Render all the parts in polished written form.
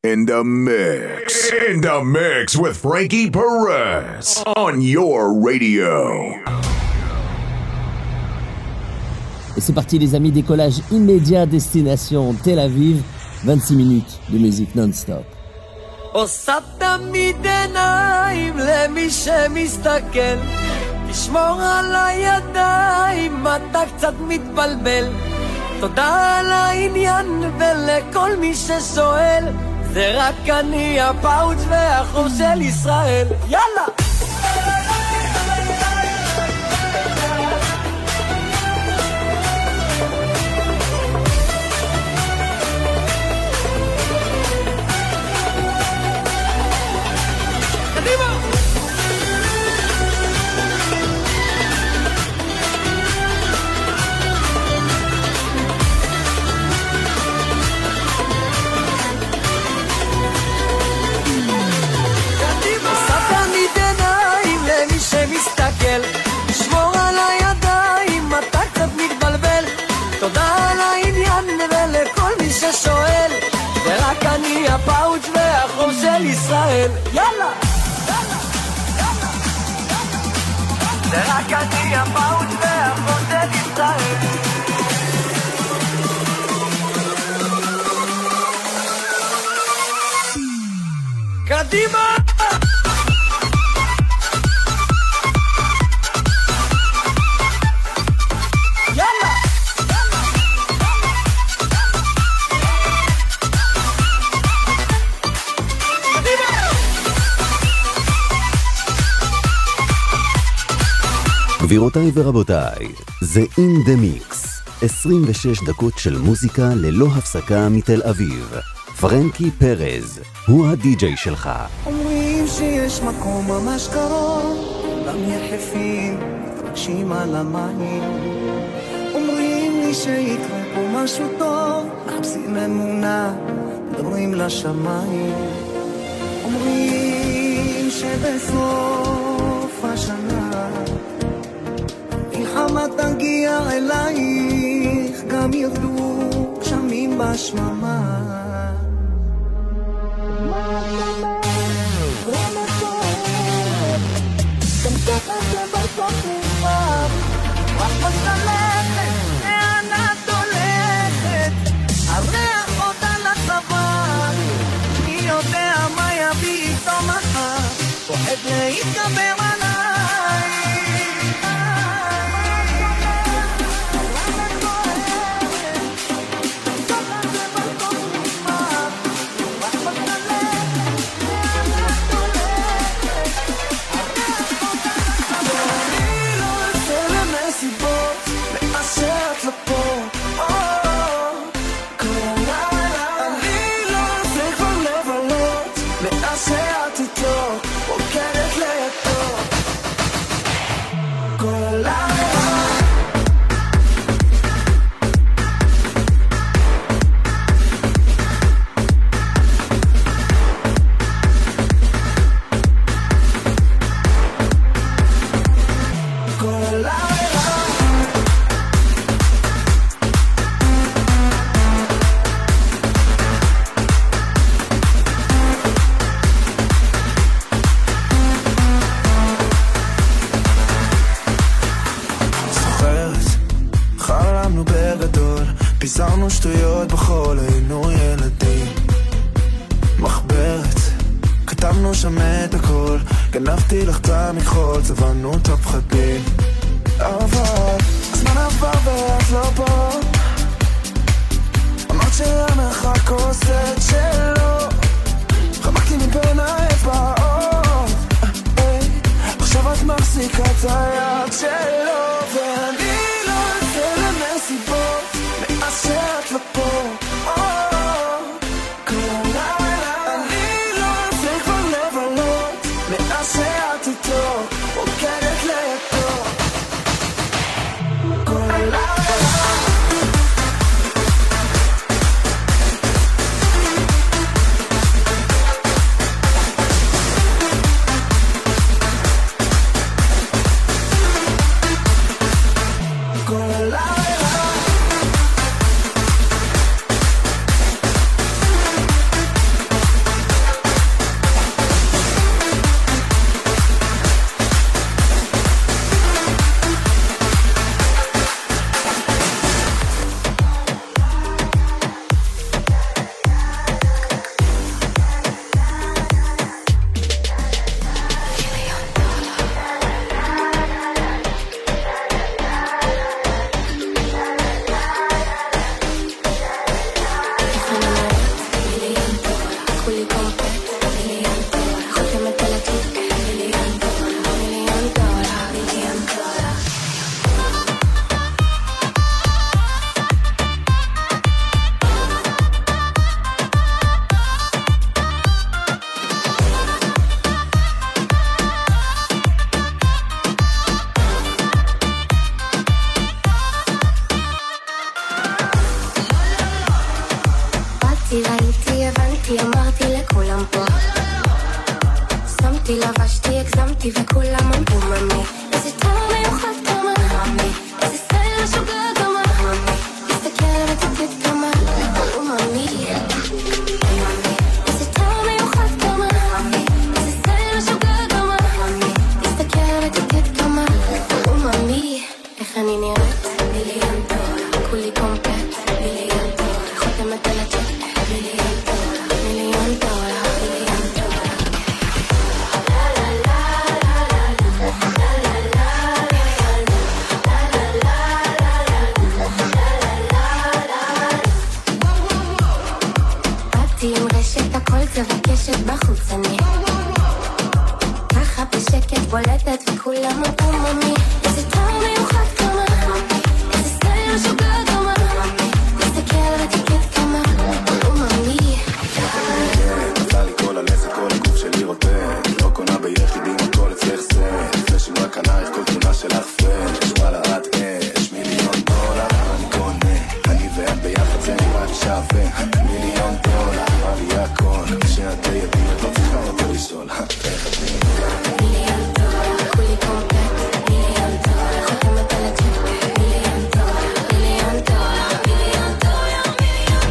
In the mix. In the mix with Frankie Perez on your radio. Et c'est parti les amis, décollage immédiat destination Tel Aviv, 26 minutes de musique non-stop. עושה תמיד עיניים למי שמסתכל, תשמור על הידיים, אתה קצת מתבלבל. תודה על העניין ולכל מי ששואל, זה רק אני הפאוץ' והחור של ישראל. יאללה! שמסתכל, לשמור על הידיים, אתה קצת מתבלבל. תודה על העניין ולכל מי ששואל, ורק אני הפאוץ' והחור של ישראל. יאללה! זה רק אני הפאוץ' והחור של ישראל. קדימה! גבירותיי ורבותיי, זה In The Mix, 26 דקות של מוזיקה ללא הפסקה מתל אביב. פרנקי פרז, הוא הדי-ג'יי שלך. אומרים שיש מקום ממש קרוב, גם יחפים מתרגשים על המים. אומרים לי שיקרה פה משהו טוב, מחפשים אמונה, מדברים לשמיים. אומרים שבסוף השנה מלחמה תגיע אלייך, גם ירדו גשמים בשממה. גם ככה זה בסוף נגמר, רק מסלכת, לאן את הולכת? הריח עוד על הצוואר, מי יודע מה יביא איתו מחר, פוחד להתגבר עליי. פיזרנו שטויות בכל, היינו ילדים. מחברת, כתבנו שם את הכל, גנבתי לך את המכחול, צבענו את הפחדים. אבל הזמן עבר ואת לא פה, אמרת שהמרחק עושה את שלו, חמקתי מבין האצבעות, עכשיו את מחזיקה את היד שלו, ואני לא יוצא למסיבות מאז שאת לא פה. כל הלילה אני לא יוצא כבר לבלות מאז שאת איתו, רוקדת לידו. כל הלילה וכולם פה שמתי, לבשתי, הגזמתי וכולם אמרו ממי איזה טעם מיוחד כמה ממי איזה סטייל משוגע כמה ממי תסתכל ותתת כמה ממי איזה טעם מיוחד כמה ממי איזה סטייל משוגע כמה ממי תסתכל ותתת כמה ממי איך אני נראית? מיליון דולר כולי קומפלט מיליון דולר חותמת על הצ'ק מיליון דולר מיליון דולר מיליון דולר באתי עם רשת הכל צבע קשת בחוץ אני ככה בשקט בולטת וכולם אמרו ממי איזה טעם מיוחד כמה איזה סטייל משוגע כמה תסתכל ותקט כמה ממי נפלה לי כל הלסת כל הגוף שלי רוטט לא קונה ביחידים הכל אצלך זה פלשים רק ענייך כל תמונה שלך פרש וואלה את אש מיליון דולר אני קונה אני ואת ביחד זה נראה לי שווה מיליון דולר בא לי הכל כשאת לידי את לא צריכה יותר לשאול איך את מיליון דולר כולי קומפלט מיליון דולר חותמת על הצ'ק מיליון דולר מיליון דולר מיליון דולר מיליון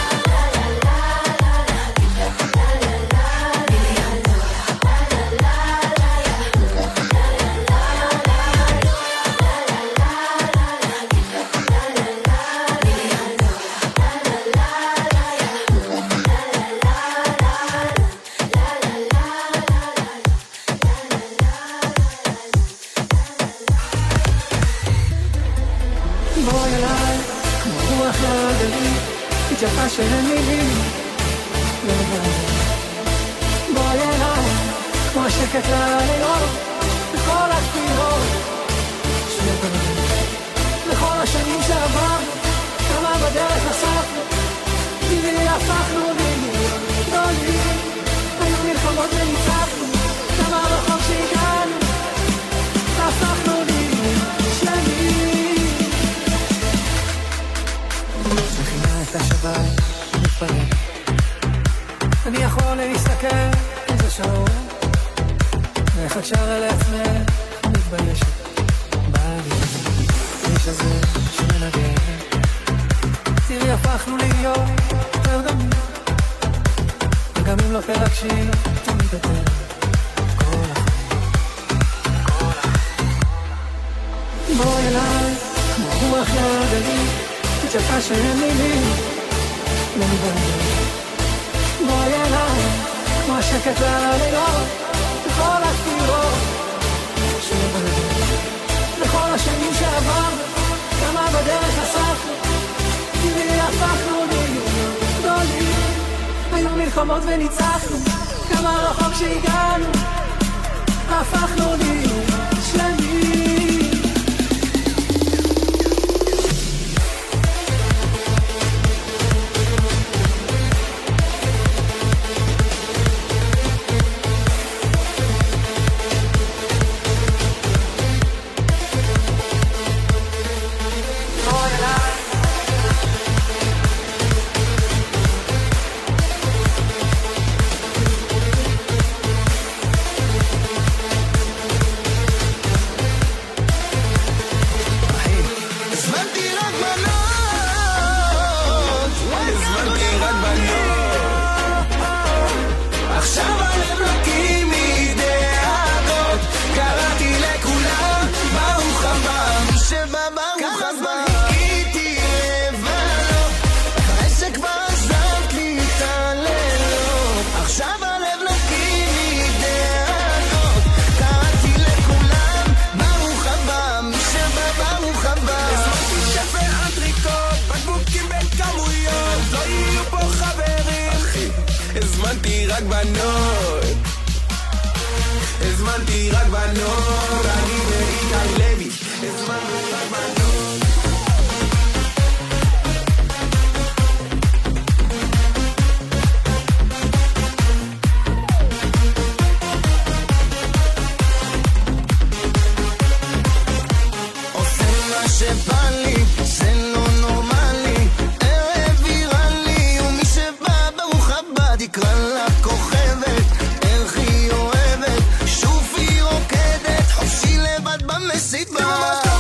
בואי אליי, כמו רוח לגלים, התייפה שאין מילים, לא לבד. בואי אליי, כמו השקט ללילות, בכל הכתיבות, שבגלל. לכל השנים שעבר, כמה בדרך נספנו, טבעי הפכנו לדמיון גדולים, היו מלחמות וניצחנו, כמה רחוק שהגענו, הפכנו לדמיון שלמים. מכינה את השבת, מתפרק אני יכול להסתכל איזה שעות איך את שר אל עצמך מתביישת בעלי איש הזה שמנגן תראי הפכנו להיות יותר דמים וגם אם לא תרגשי תמיד יותר כל החיים בואי אליי כמו רוח לגלים התייפה שאין מילים לא מבעיה בואי אליי כמו השקט ללילות בכל הכתיבות שבגלל לכל השנים שעבר כמה בדרך נספנו טבעי הפכנו לדמיון גדולים היו מלחמות וניצחנו כמה רחוק שהגענו הפכנו לדמיון שלמים הזמנתי רק בנות הזמנתי רק בנות אני ואיתי לוי הזמנתי רק בנות עושה מה שבא לי זה לא נורמלי ערב ויראלי ומי שבא ברוך הבא תקרא לה כוכבת, איך היא אוהבת, שוב היא רוקדת, חופשי לבד במסיבה.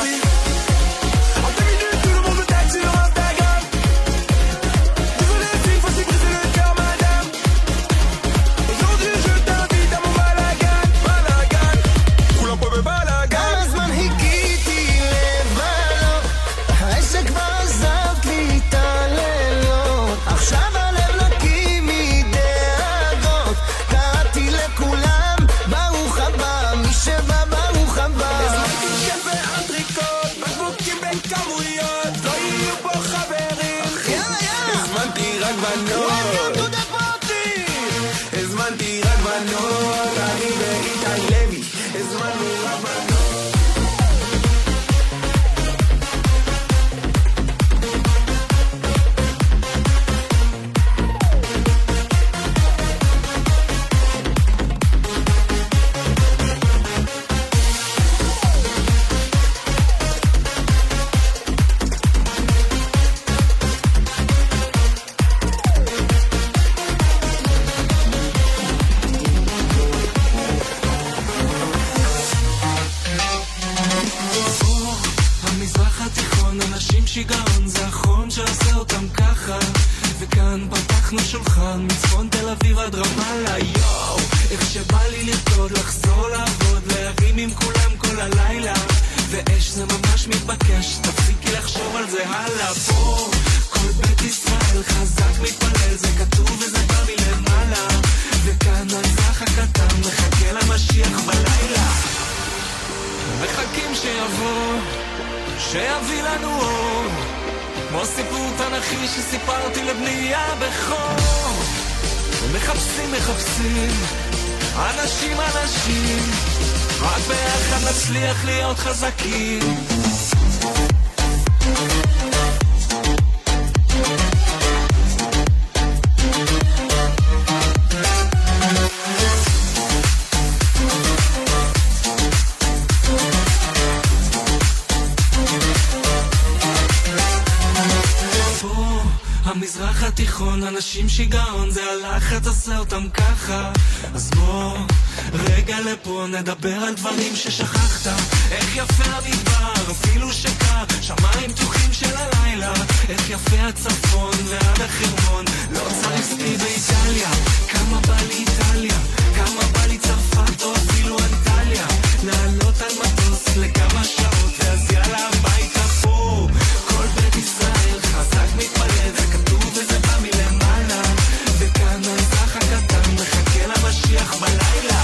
המזרח התיכון, אנשים שיגעון, זה הלחץ עושה אותם ככה. אז בוא רגע לפה נדבר על דברים ששכחת. איך יפה המדבר, אפילו שקר, שמיים פתוחים של הלילה. איך יפה הצפון ועד החרמון, לא צריך סקי באיטליה. כמה בא לי איטליה, כמה בא לי צרפת או אפילו אנטליה. לעלות על מטוס לכמה שעות ואז יאללה הביתה פה. כל בית ישראל חזק מתפלד, זה כתוב וזה בא מלמעלה. וכאן האזרח הקטן מחכה למשיח בלילה.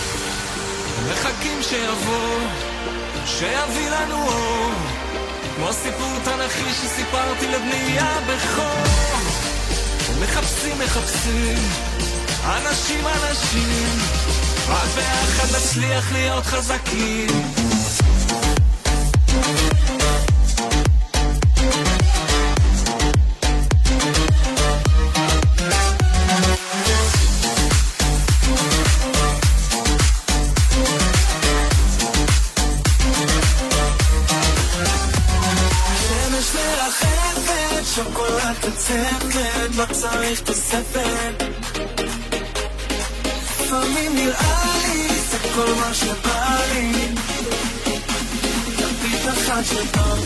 מחכים שיבוא, שיביא לנו אור, כמו סיפור תנכי שסיפרתי לבני הבכור. מחפשים, אנשים, רק ביחד נצליח להיות חזקים. שוקולד קצפת, לא צריך תוספת. לפעמים נראה לי, זה כל מה שבא לי. תביט אחת של פעם.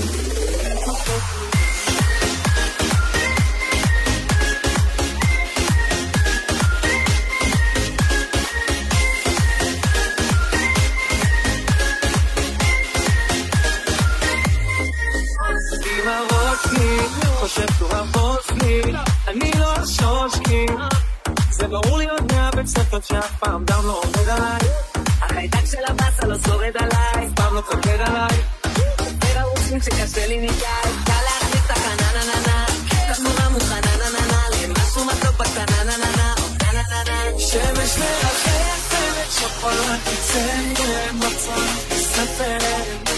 חושב תורבות לי, אני לא אשוש כי זה ברור לי עוד מהבית ספר שאף פעם דם לא עובד עליי. החיידק של הבאסה לא שורד עליי, פעם לא צוקד עליי. ורעוצים שקשה לי מדי, קל להחליט את החננננה, כמורה מוכנה נננה, למשהו מתוק בקטנה נננה, שמש מרחפת, שוקולד קצפת, מצה ספרת.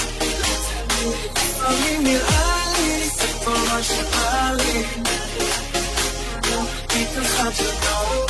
לפעמים נראה לי כל מה שבא לי, תביט אחת של פעם.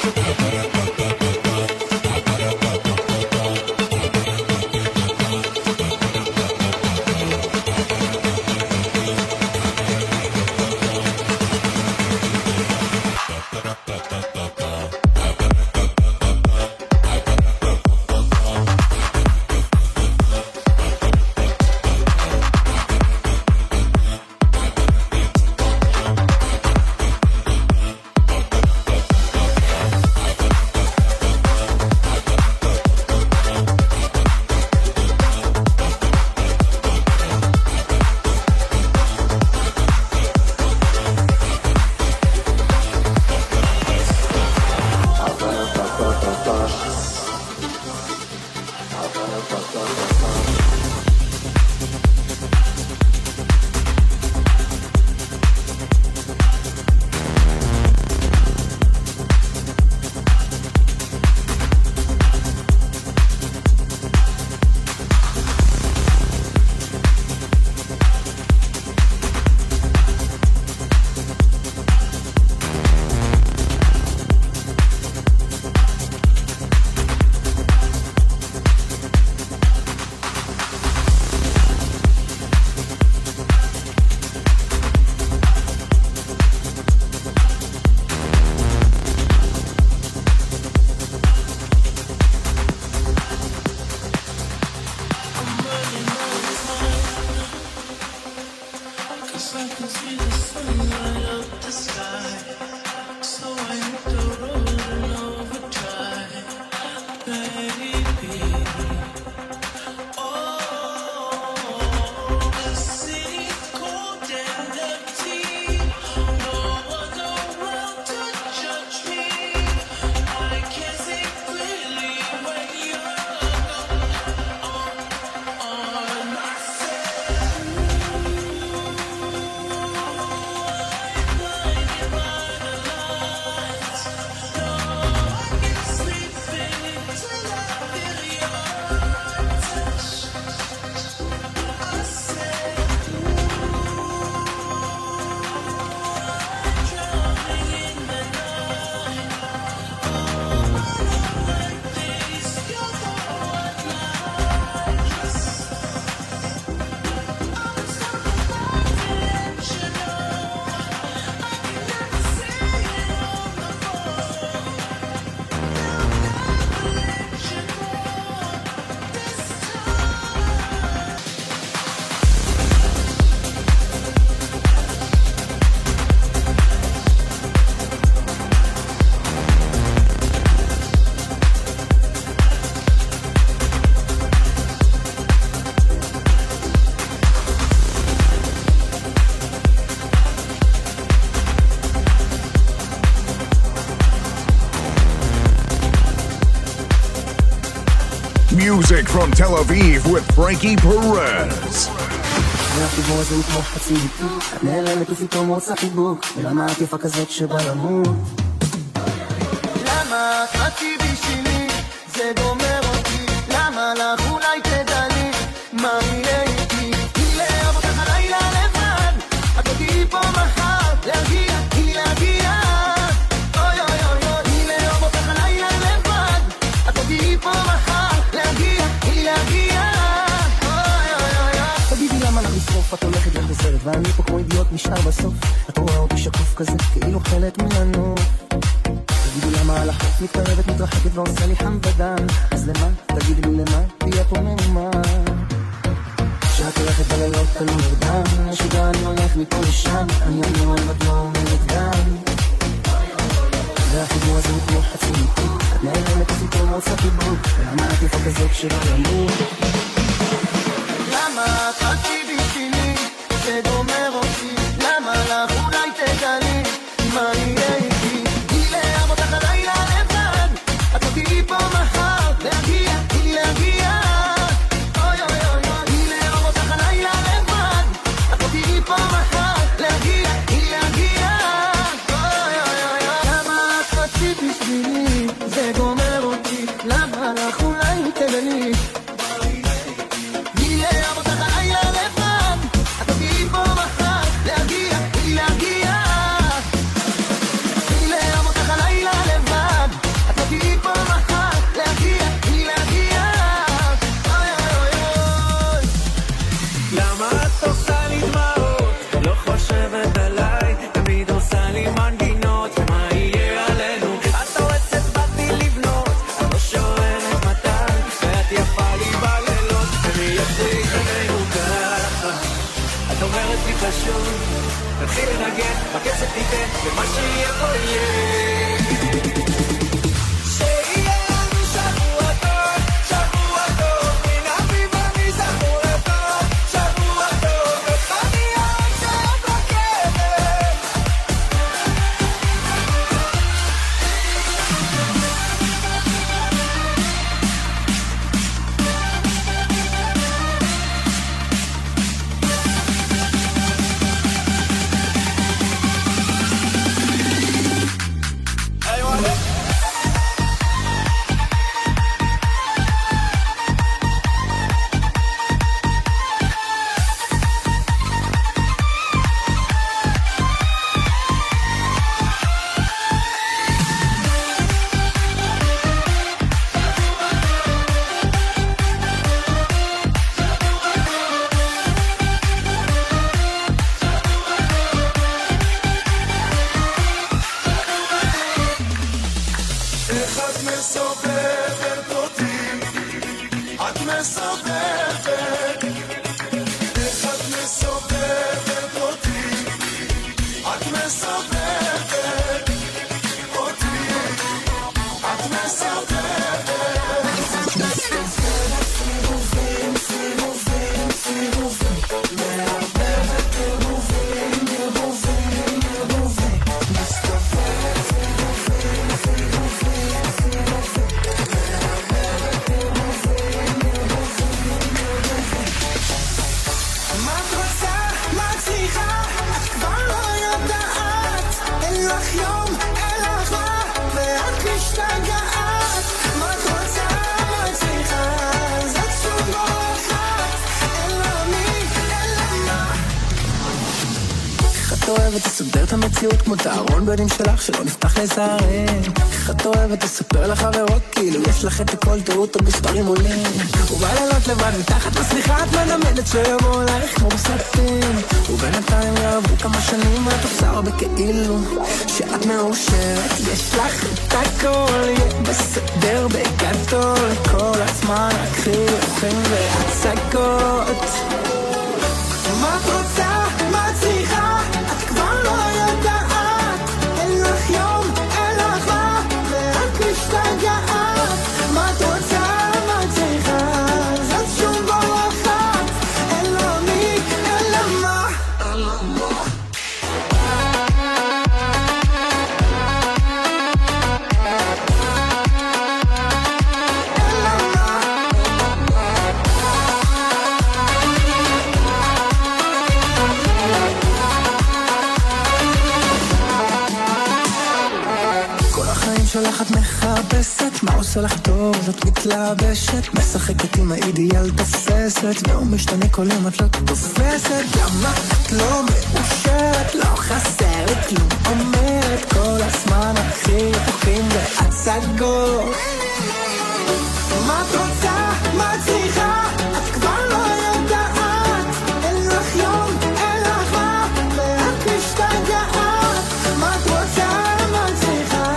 Music from Tel Aviv with Frankie Perez. והחיבור הזה הוא כמו חצי דיפוק, את נעלמת ופתאום רוצה חיבוק, ולמה הכיפה כזאת שבא למות? למה את חצי בשבילי, זה גומר אותי, למה לך אולי תדעי, מה יהיה איתי? היא לאהוב אותך לילה לבד, את אותי פה מחר, להגיע, היא להגיע, אוי אוי אוי אוי, היא לאהוב אותך לילה לבד, את אותי פה מחר, להגיע, היא להגיע, אוי אוי אוי אוי. תגידי למה לך לשרוף, את הולכת לך בסרט, ואני פה כמו אידיוט נשאר בסוף, את רואה אותי שקוף כזה, כאילו חלק ממנו. תגידי למה על החוף מתקרבת, מתרחקת ועושה לי חם בדם, אז למה? תגידי לי למה? תהיה פה מאומה. שאת הולכת בלילות תלו נרדם, משוגע אני הולך מפה לשם, אני אומר עוד לא אומרת גם. והחיבור הזה הוא כמו חצי ניתוק, את נעלמת ופתאום רוצה חיבוק, למה את יפה כזאת שלא ימות? למה את חצי בשבילי, זה גומר אותי, למה לך אולי תדעי, מה יהיה איתי? היא לאהוב אותך הלילה לבד, את אותי פה מחר, להגיע, היא להגיע, אוי אוי אוי אוי, היא לאהוב אותך הלילה לבד, את אותי פה מחר, להגיע, היא להגיע, אוי אוי אוי אוי. למה את חצי בשבילי, זה גומר אותי, למה לך אולי תדעי, היא לאהוב אותך הלילה לבד, איך את מסובבת אותי, את מסובבת, איך את מסובבת אותי, את מסובבת אותי, את מסובבת. סיבובים, סיבובים, סיבובים, מערבבת ערבובים, ערבובים, ערבובים, מסתובבת סיבובים, סיבובים, סיבובים, מערבבת ערבובים, ערבובים, ערבובים. מה את רוצה? מה את צריכה? את כבר לא יודעת, אין לך יום, אין לך מה, ואת משתגעת. מה את רוצה? מה את צריכה? זאת שוב לא אחת, אין לה מי, אין לה מה. איך את אוהבת לסדר את המציאות כמו את הארון בדים שלך שלא נפתח לזרים. איך את אוהבת לספר לחברות כאילו יש לך את הכל טעות המספרים עולים. ובלילות לבד מתחת לסליחה את מנמדת שיבואו אלייך כמו בסרטים. ובינתיים יעברו כמה שנים ואת עושה הרבה כאילו שאת מאושרת. יש לך את הכל, יהיה בסדר בגדול, כל הזמן רק חיוכים והצגות. מה את רוצה? מה את צריכה? את כבר לא יודעת, אין לך יום, אין לך מה, ואת משתגעת. מה את רוצה? מה את צריכה? זאת שום לא אחת, אין לה מי, אין לה מה, אין לה מה. שלך את מחפשת, מה עושה לך טוב? את מתלבשת, משחקת עם האידיאל תופסת, והוא משתנה כל יום את לא תופסת. למה את לא מאושרת? לא חסר לי כלום, אומרת כל הזמן הכי יפים והצגות. מה את רוצה? מה את צריכה? את כבר לא יודעת, אין לך יום, אין לך מה, ואת משתגעת. מה את רוצה? מה את צריכה?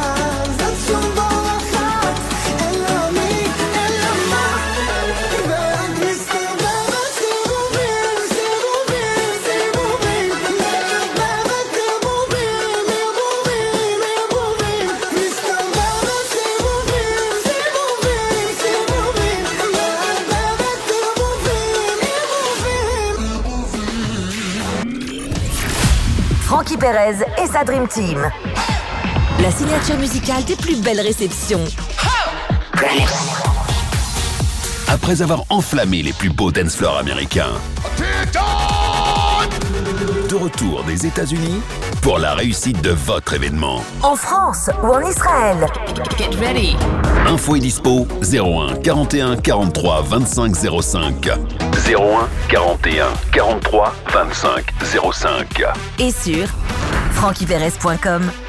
Frankie Perez et sa Dream Team. La signature musicale des plus belles réceptions. Après avoir enflammé les plus beaux dance floors américains, de retour des États-Unis pour la réussite de votre événement. En France ou en Israël. Get ready. Info et dispo 01 41 43 25 05. 01 41 43 25 05. Et sur frankieperez.com.